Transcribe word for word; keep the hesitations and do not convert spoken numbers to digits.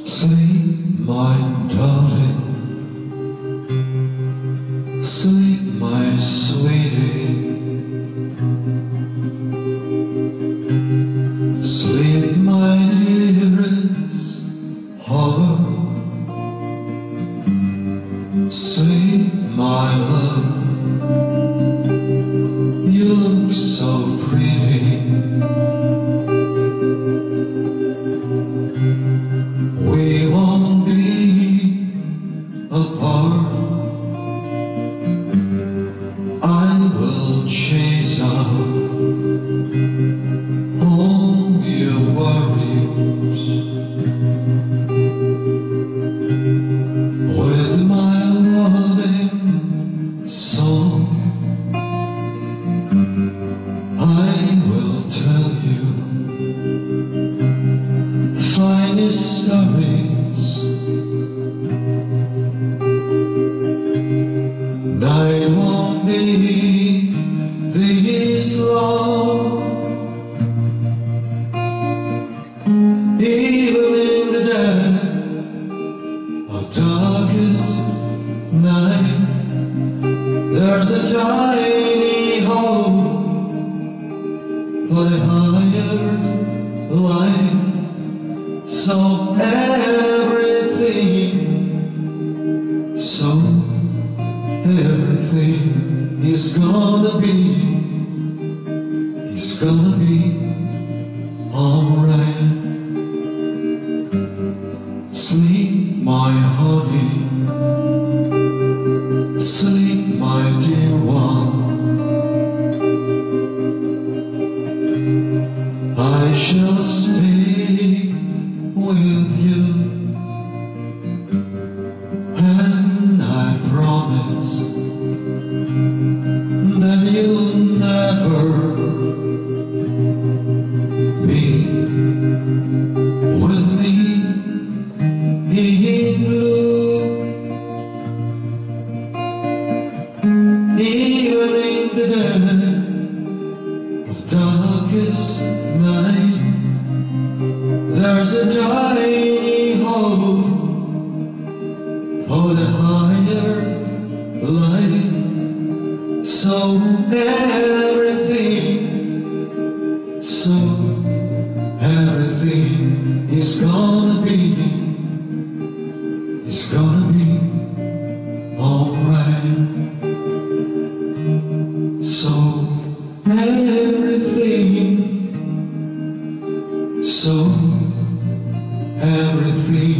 Sleep, my darling, sleep, my sweetie, sleep, my dearest heart, sleep, my love, you look so pretty. We won't be apart. I will chase out all your worries with my loving song. I will tell you finest stories. Night won't be this long, even in the dead of darkest night. There's a tiny hope for the higher light. So everything, so everything is gonna be, is gonna be alright. Sleep, my honey, sleep, my dear one. I shall stay with you, and I promise that you'll never be with me in blue, even in the dead of darkest night. There's a tiny hope for the higher light. So everything, so everything is gonna be, is gonna be alright. So everything, so everything